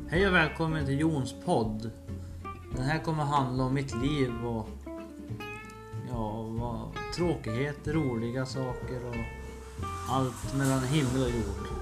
Hej och välkommen till Jons podd. Den här kommer handla om mitt liv och tråkigheter, roliga saker och allt mellan himmel och jord.